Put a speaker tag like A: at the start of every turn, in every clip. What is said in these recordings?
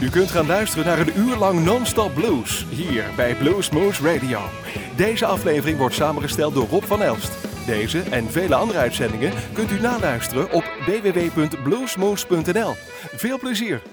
A: U kunt gaan luisteren naar een uur lang non-stop blues, hier bij Bluesmoose Radio. Deze aflevering wordt samengesteld door Rob van Elst. Deze en vele andere uitzendingen kunt u naluisteren op www.bluesmoose.nl. Veel plezier!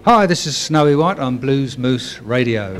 B: Hi, this is Snowy White on Blues Moose Radio.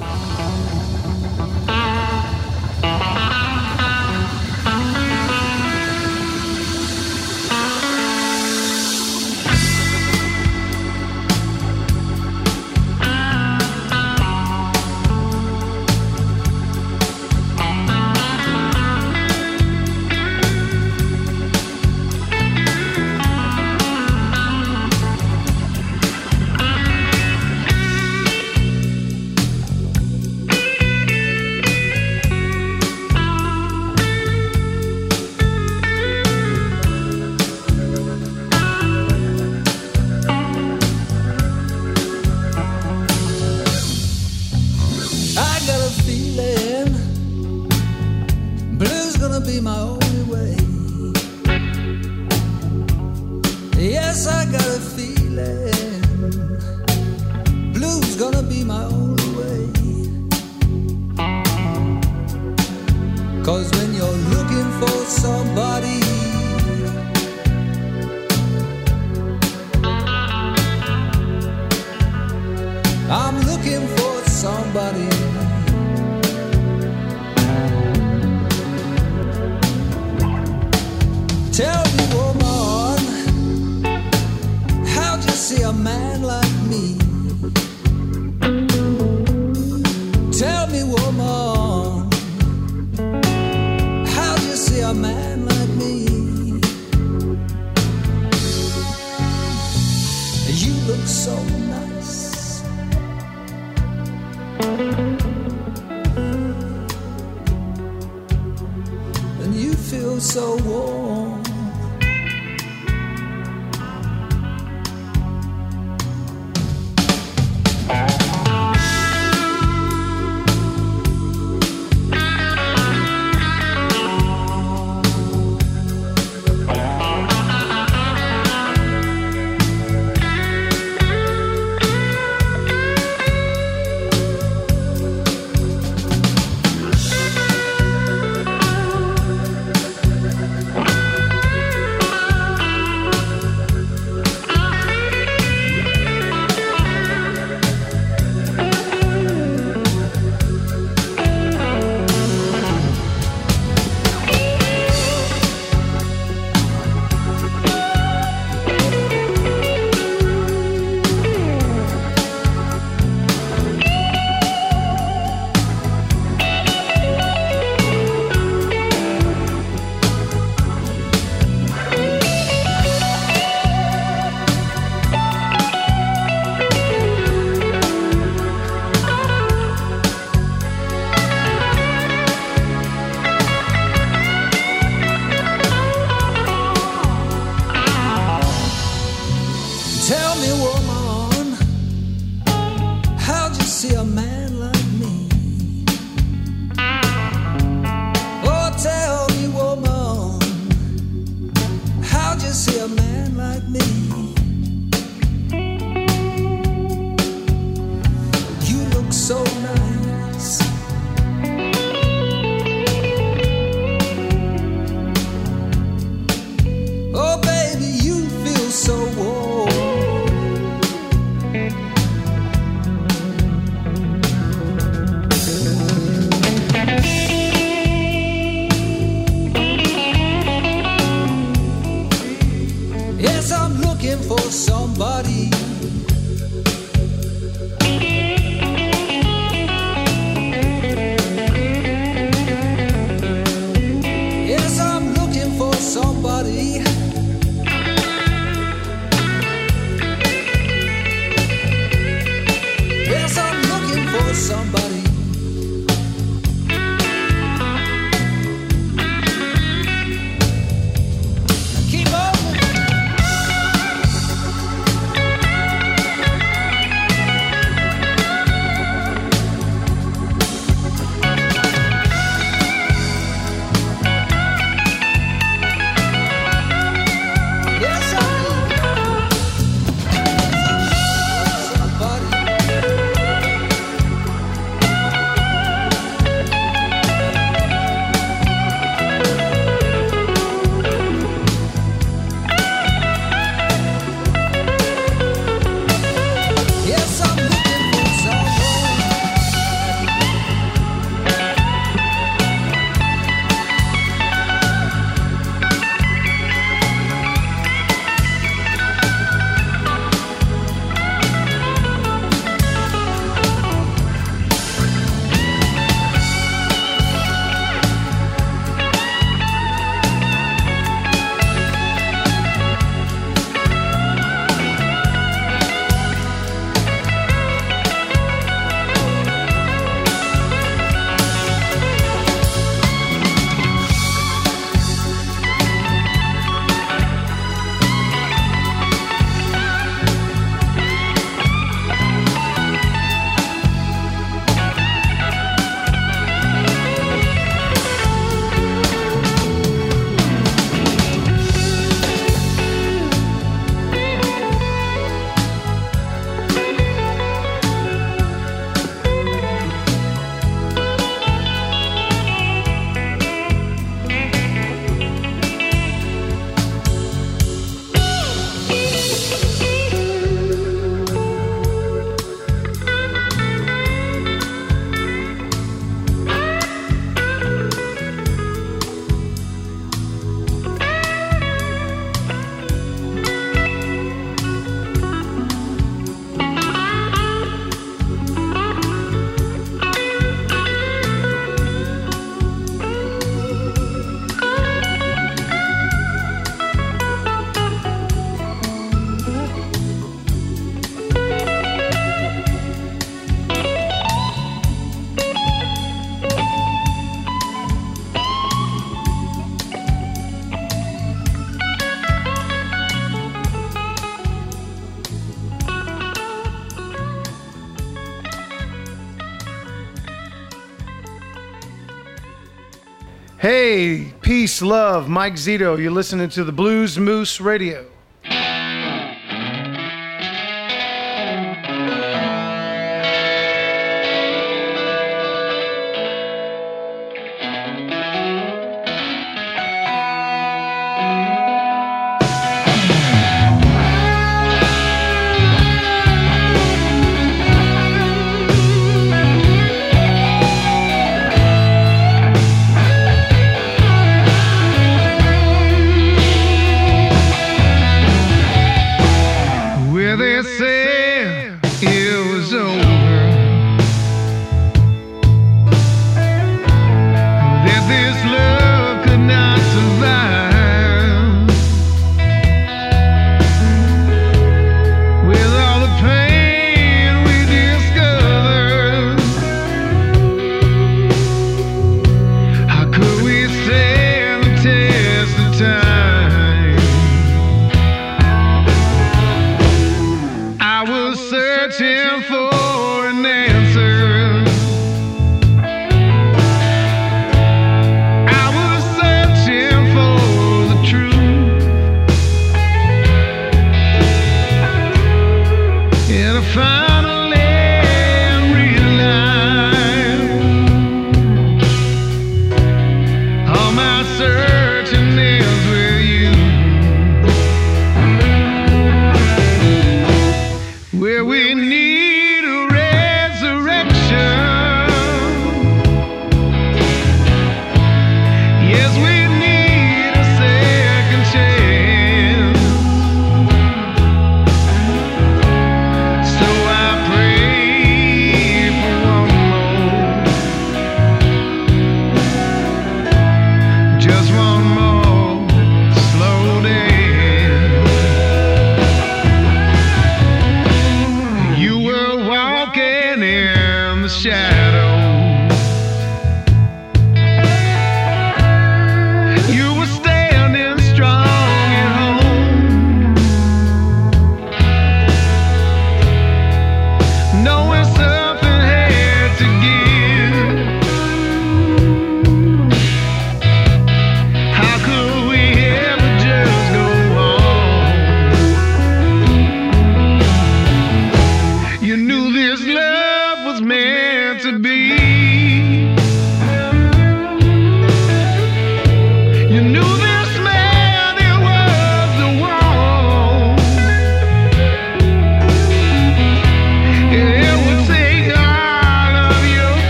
C: Hey, peace, love, Mike Zito. You're listening to the Blues Moose Radio.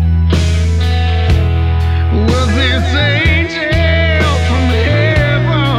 D: this angel from heaven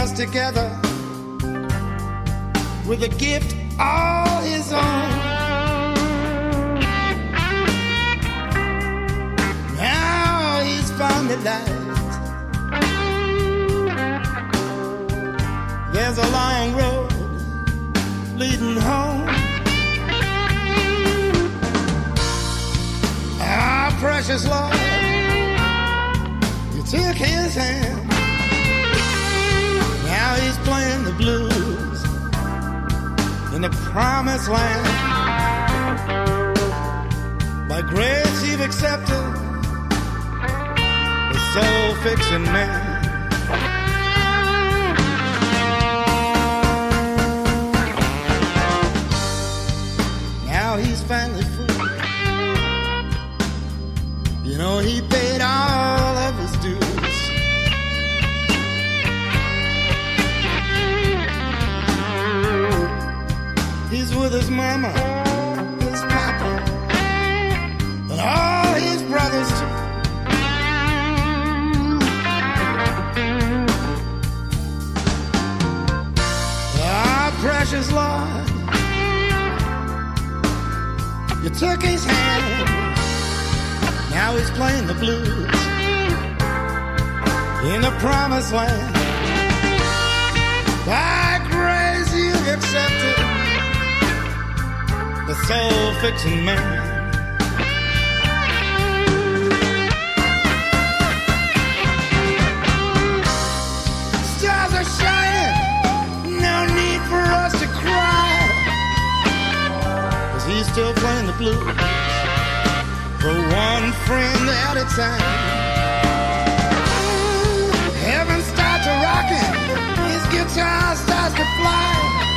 D: stars together with a gift all his own. Now he's found the light. There's a long road leading home. Our precious Lord, you took his hand. Now he's playing the blues in the promised land. By grace you've accepted the soul-fixing man. Now he's finally free. You know he paid all of his dues. He's with his mama, his papa, and all his brothers too. Our precious Lord, you took his hand. Now he's playing the blues in the promised land. By grace you've accepted the soul-fixing man. Stars are shining, no need for us to cry, 'cause he's still playing the blues for one friend at a time. Heaven starts to rockin', his guitar starts to fly.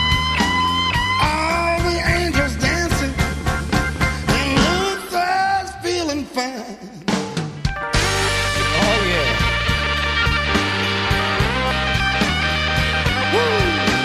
D: All the angels dancing, and Luther's feeling fine. Oh yeah. Woo!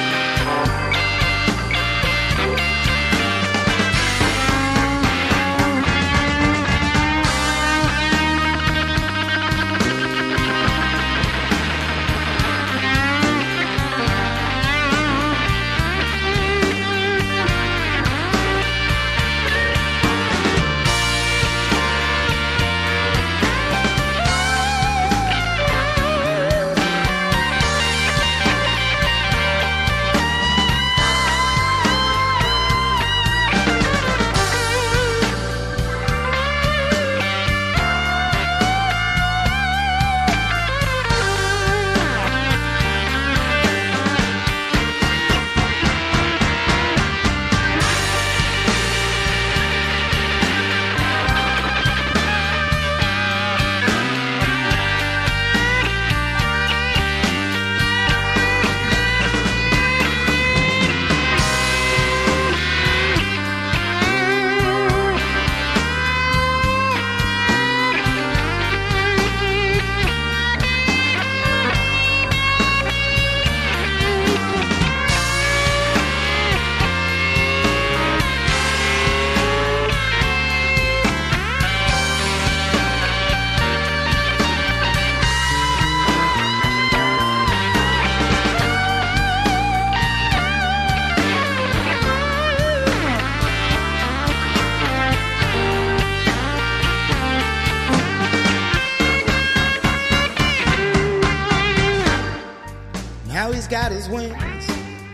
D: Got his wings,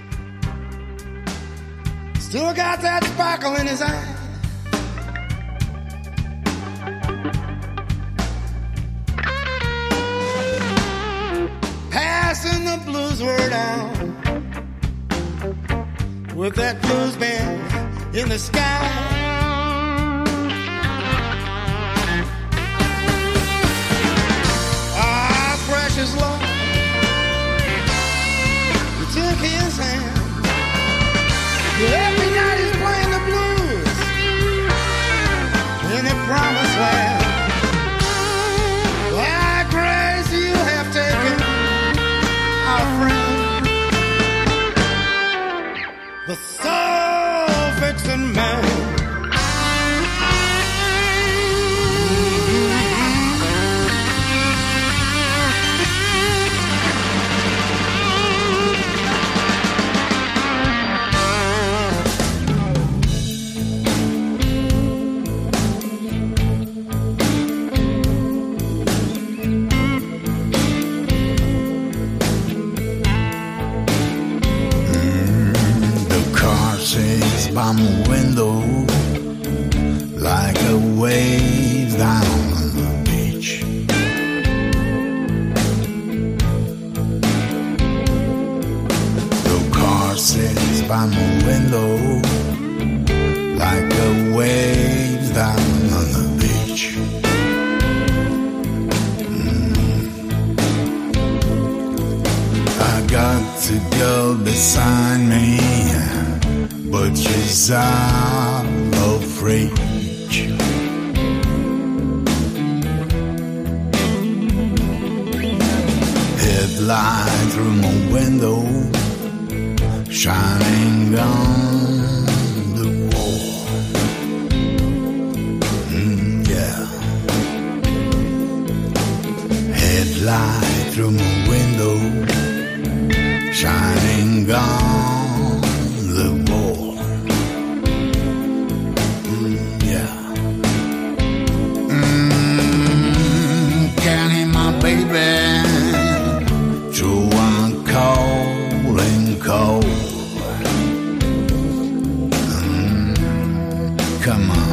D: still got that sparkle in his eye. Passing the blues word on with that blues band in the sky. Our precious Lord, took his hand. Every night he's playing the blues in the promised land. By grace you have taken our friend, the soul-fixing man.
E: by my window like a wave down on the beach. The car sits by my window like a wave down on the beach. I got the girl beside me, but she's out of reach. Headlight through my window, shining on the wall. Yeah. Headlight through my window, shining on the wall. Yeah. Can't hear my baby, so I'm calling cold. Come on.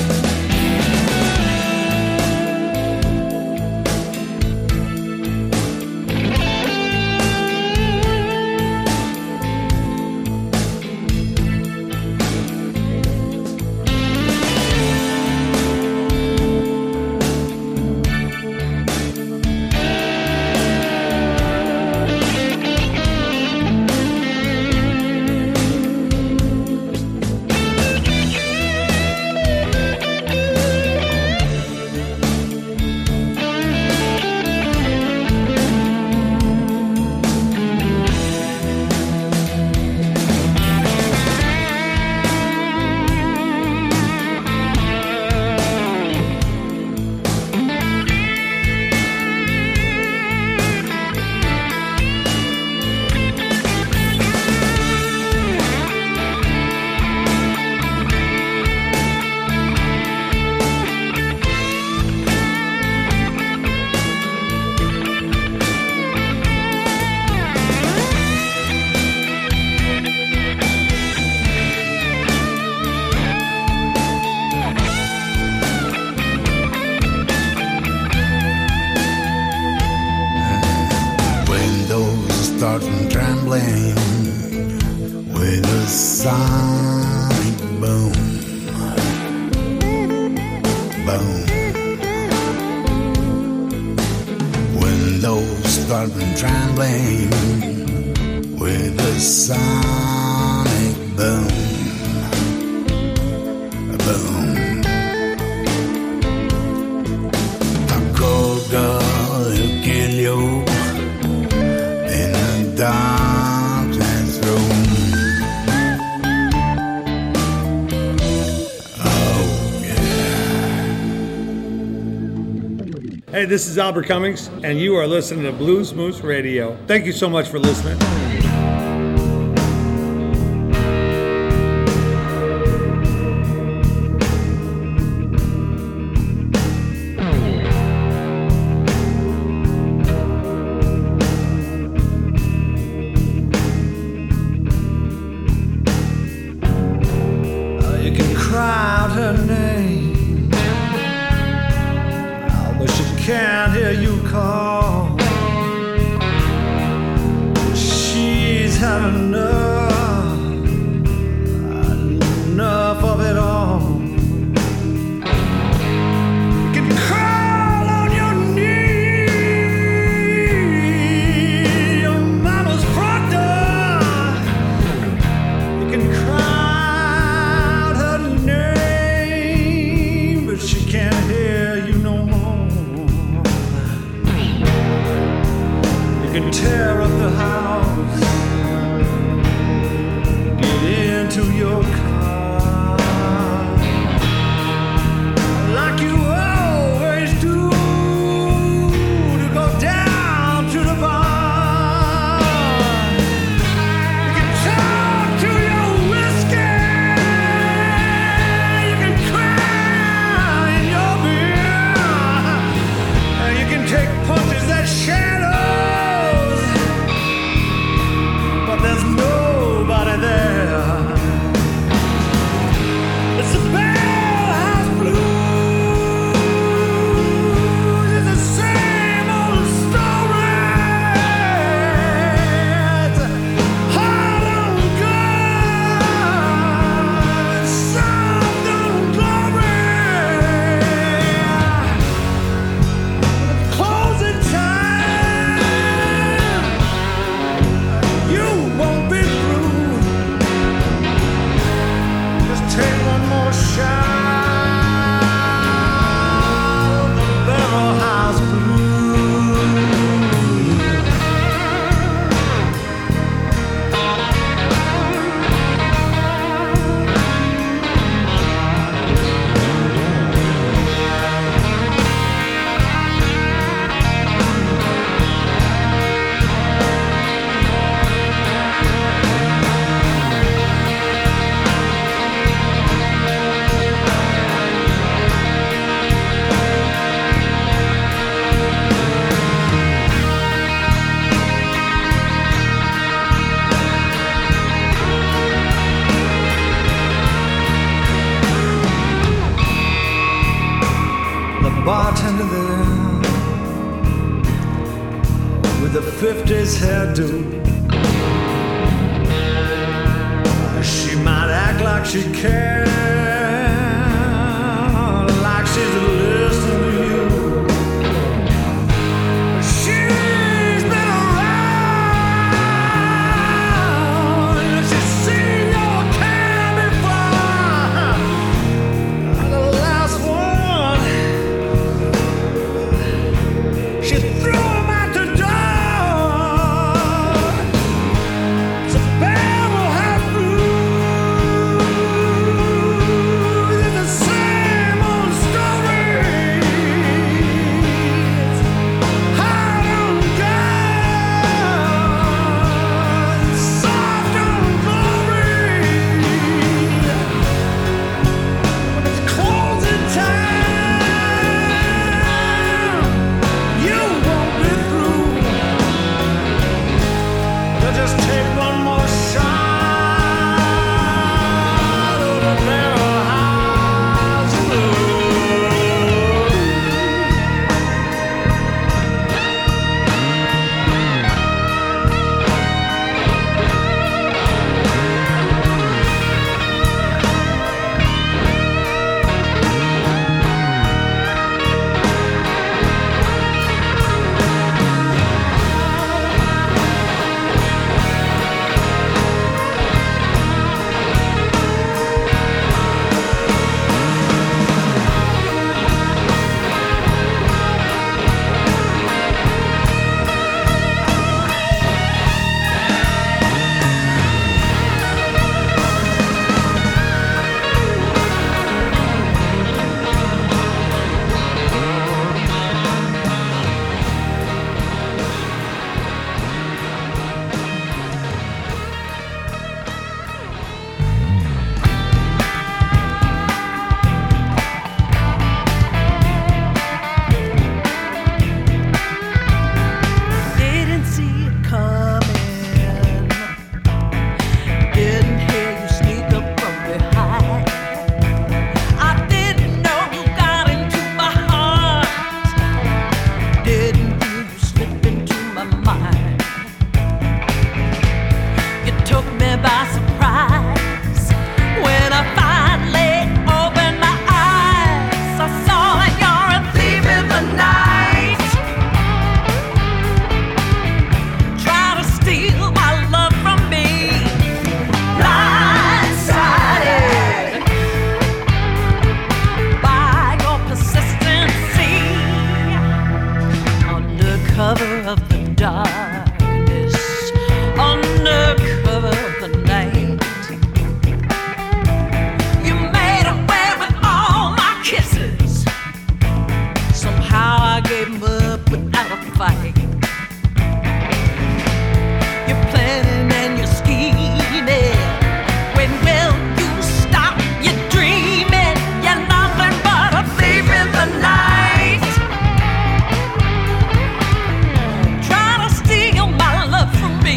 E: Starting trembling with a sonic boom, boom. Windows starting trembling with a sonic boom, boom. A cold girl will kill you in a darkness room. Oh, yeah.
F: Hey, this is Albert Cummings, and you are listening to Blues Moose Radio. Thank you so much for listening.
D: Can't hear you call. She's had enough of it all. You can crawl on your knee, your mama's front door. You can cry out her name, but she can't hear you no more. Can tear up the house, get into your car, like you always do, to go down to the bar. You can talk to your whiskey, you can cry in your beer, you can take punches that shadow. There's nobody there. with a 50s hairdo. She might act like she cares, like she's listening to you. She's been around, she's seen your kind before. The last one, she threw him out the door. So bear will have bruised. It's the same old story. Hard on God, soft on glory. When it's closing time, you won't be through. They'll just take one more shot of the barrel house blues. Didn't see it coming. Didn't hear you sneak up from behind. I didn't know you got into my heart. Didn't hear you slip into my mind. You took me by surprise when I finally opened my eyes. I saw that you're a thief in the night. Try to steal my love from me, blindsided by your persistency. Under cover of the darkness, under cover of the night, you made away with all my kisses. Somehow I gave 'em up without a fight. You're planning and you're scheming. When will you stop your dreaming? You're nothing but a thief in the night. Try to steal my love from me,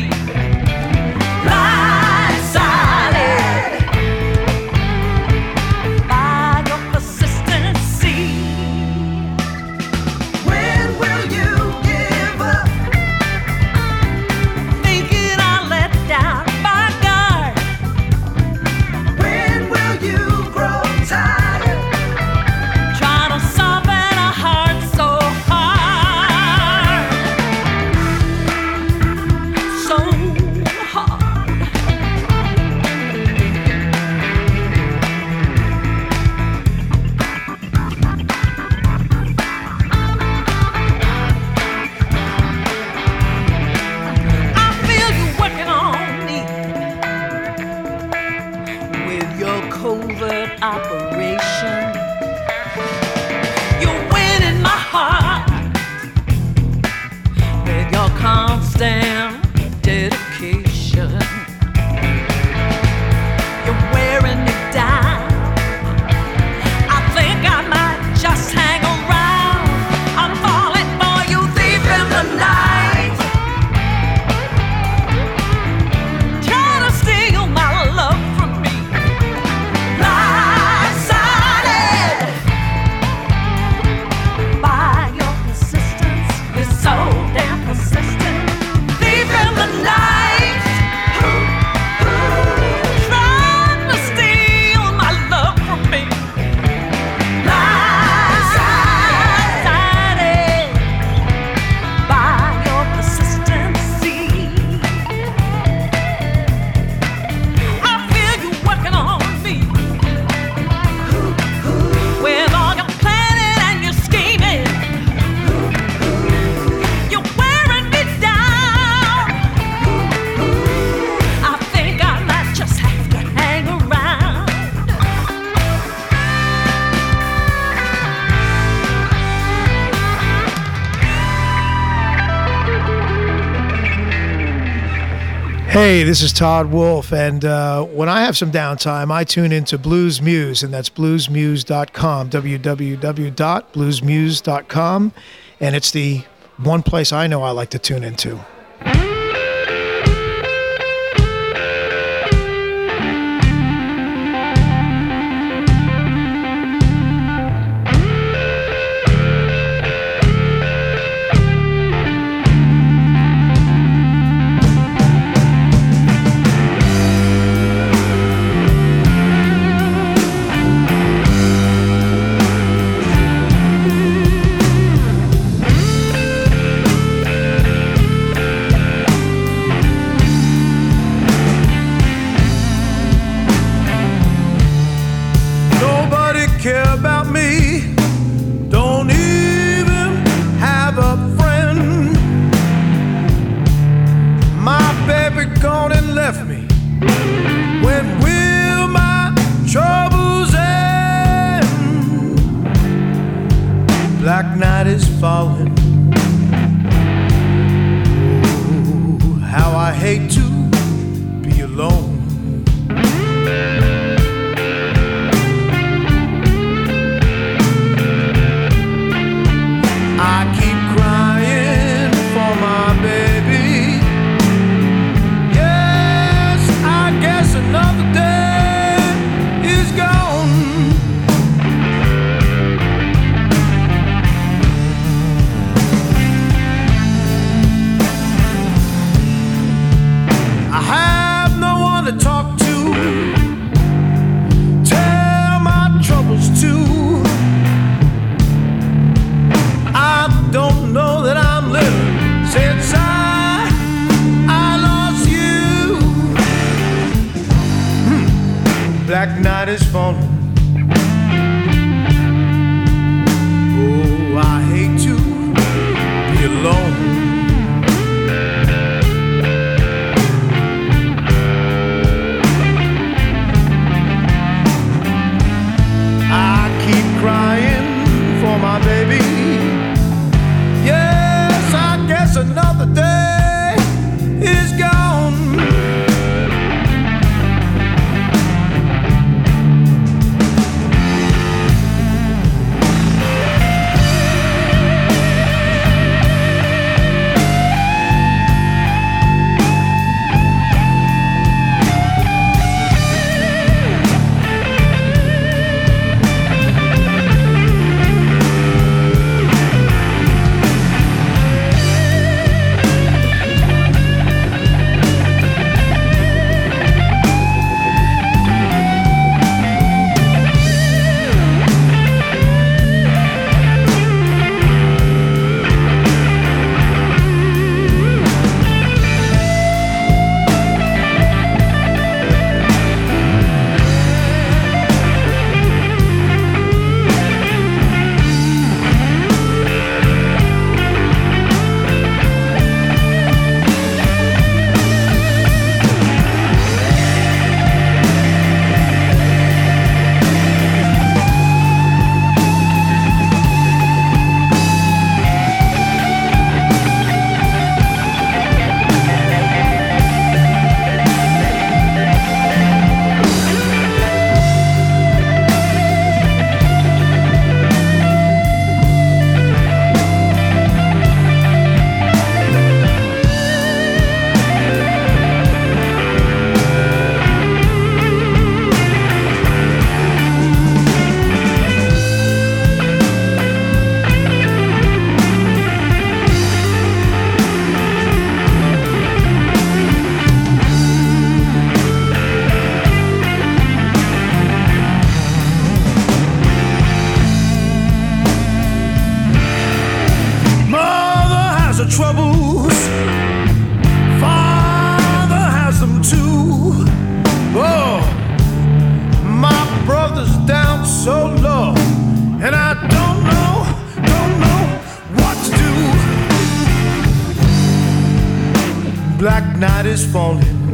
D: blindsided by your persistency. When will you give up? Thinking I let down my guard. When will you grow tired? Trying to soften a heart so hard, so hard. I feel you working on me with your covert operation. You're winning my heart with your constant dedication. You're wearing me down. I think I might just hang around. I'm falling for you, thief in the night. Try to steal my love from me, blindsided by your persistence. You're so damn persistent.
G: Hey, this is Todd Wolf, and when I have some downtime, I tune into Blues Muse, and that's bluesmuse.com, www.bluesmuse.com, and it's the one place I know I like to tune into.
H: Black night is falling. Oh, how I hate to be alone. I keep crying for my baby. Yes, I guess another day is gone. I have no one to talk to, tell my troubles to. I don't know that I'm living since I lost you. Black night is falling. Oh, I hate to be alone. I keep crying for my baby. Yes, I guess another day is gone. Troubles, Father has them too. Oh, my brother's down so low, and I don't know what to do. Black night is falling.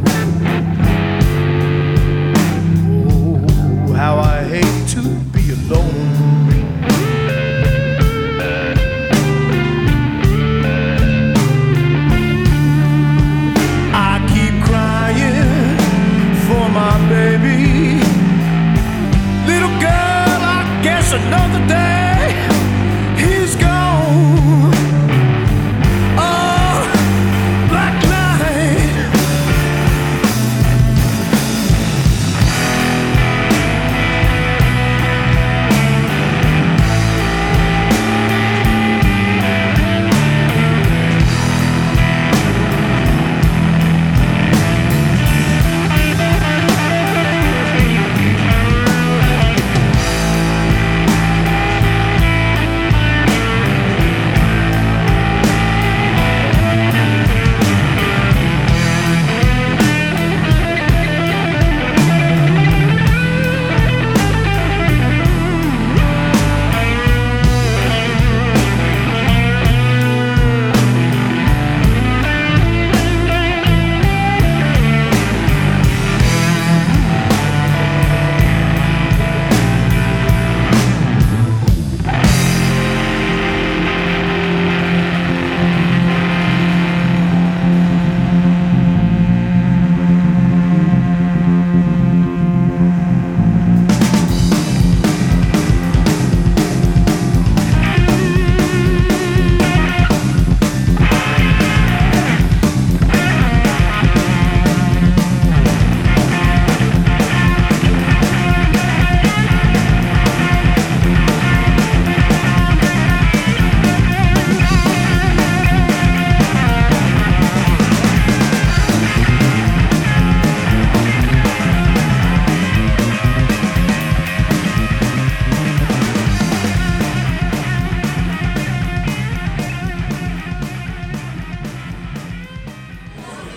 H: Oh, how I hate to be alone. I keep crying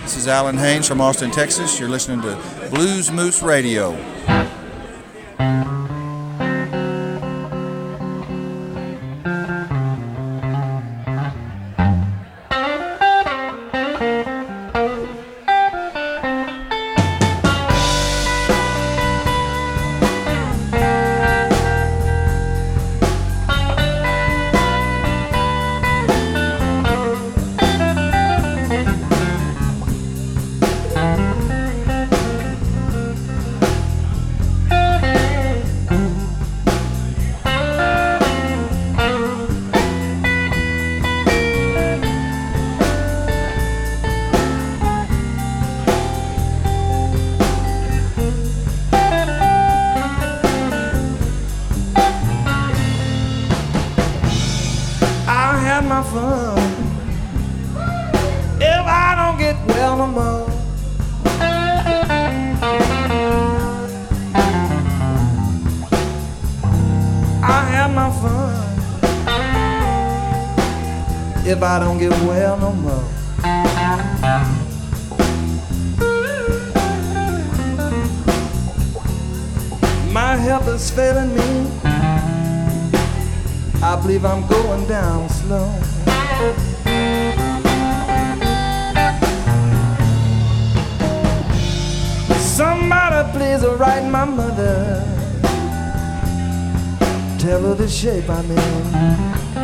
I: This is Alan Haynes from Austin, Texas. You're listening to Blues Moose Radio.
J: If I don't get well no more. My health is failing me. I believe I'm going down slow. Somebody please write my mother. Tell her the shape I'm in.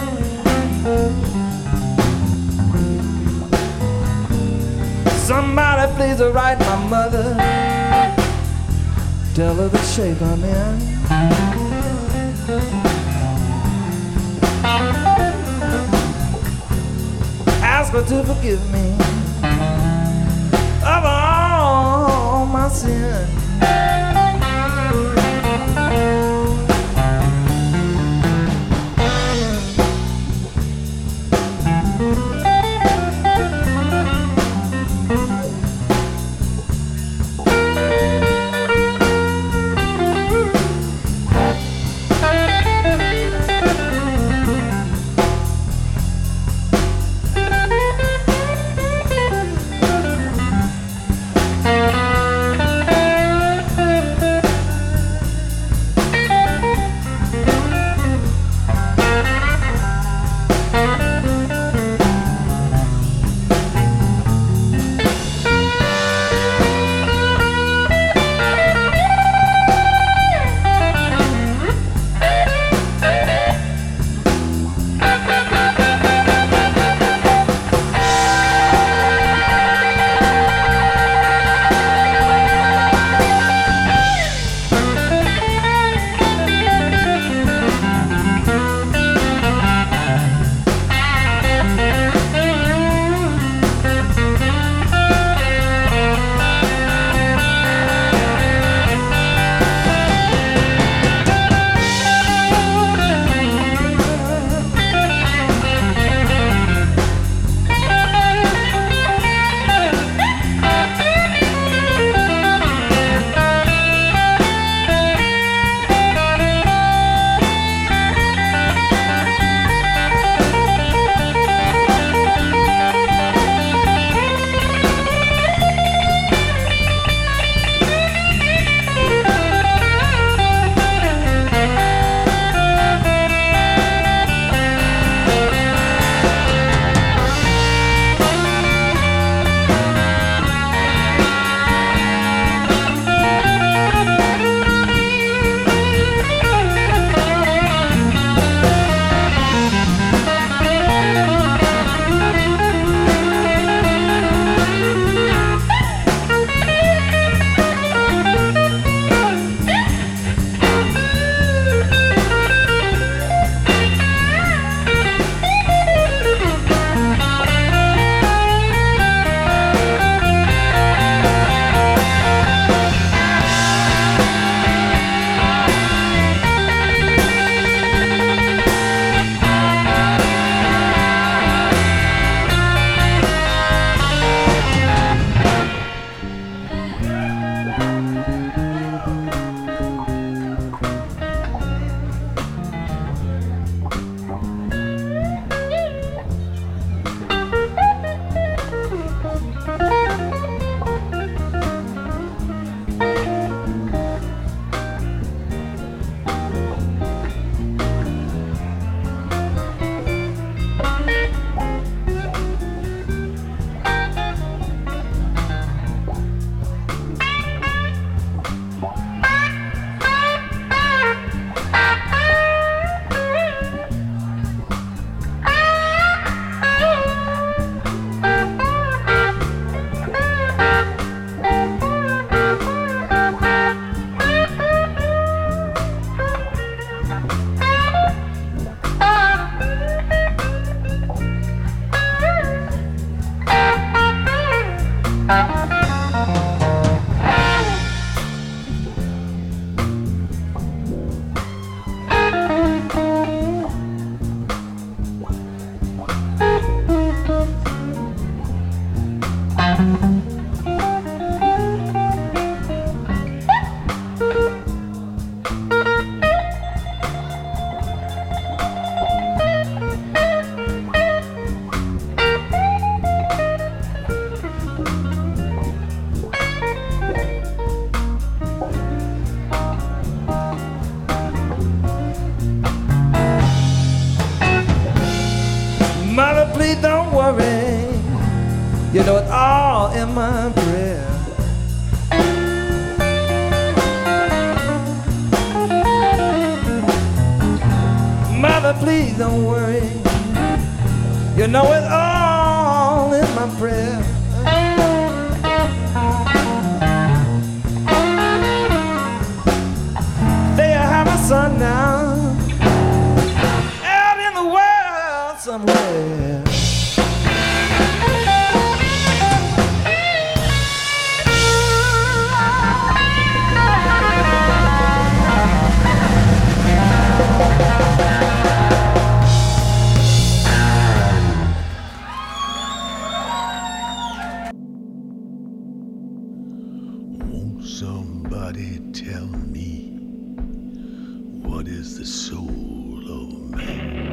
J: Somebody please write my mother. Tell her the shape I'm in. Ask her to forgive me of all my sins. Mother, please don't worry. You know it's all in my prayer. Mother, please don't worry. You know it's all in my prayer. There I have my son now, out in the world somewhere.
E: Won't somebody tell me what is the soul of man?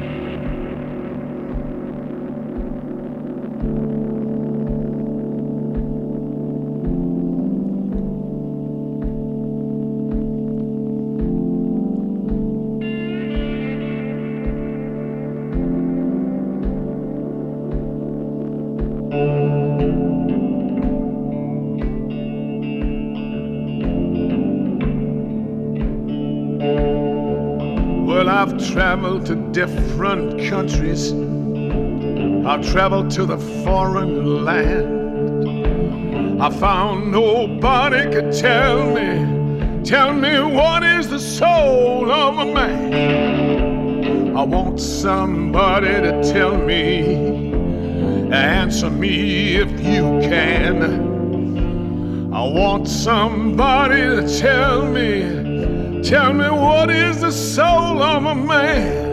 E: Well, I've traveled to different countries. I've traveled to the foreign land. I found nobody could tell me what is the soul of a man. I want somebody to tell me, answer me if you can. I want somebody to tell me what is the soul of a man.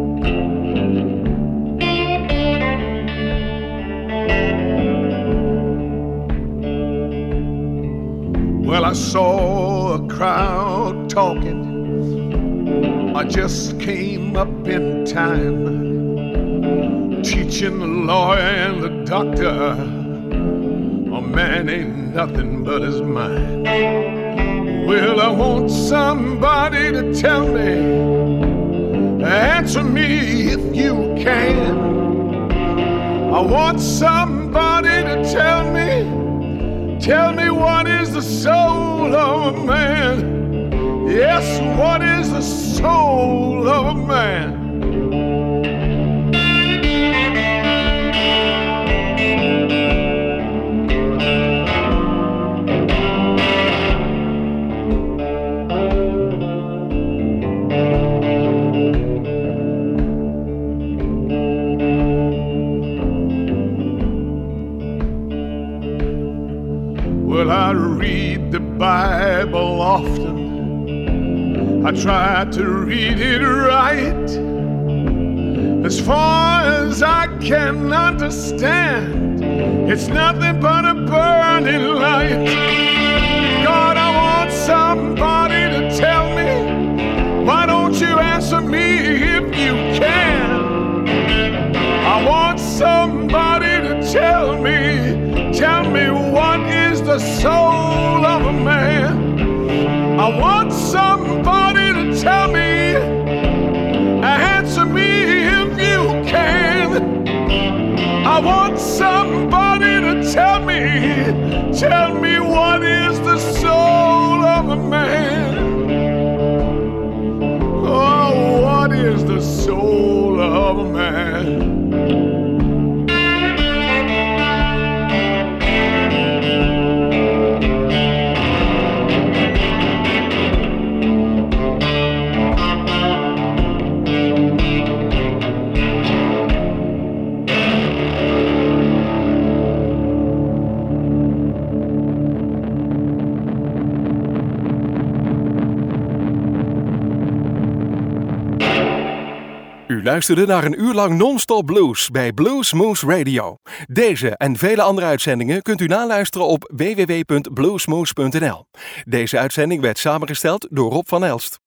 E: Well, I saw a crowd talking. I just came up in time, teaching the lawyer and the doctor a man ain't nothing but his mind. Well, I want somebody to tell me, answer me if you can. I want somebody to tell me what is the soul of a man. Yes, what is the soul of a man? Well, I read the Bible often. I try to read it right, as far as I can understand. It's nothing but a burning light. God, I want somebody to tell me. Why don't you answer me if you can? I want somebody to tell me what is the soul of a man. I want somebody to tell me, answer me if you can. I want somebody to tell me what is the soul of a man. Oh, what is the soul of a man?
A: U luisterde naar een uur lang non-stop blues bij Blues Moose Radio. Deze en vele andere uitzendingen kunt u naluisteren op www.bluesmoose.nl. Deze uitzending werd samengesteld door Rob van Elst.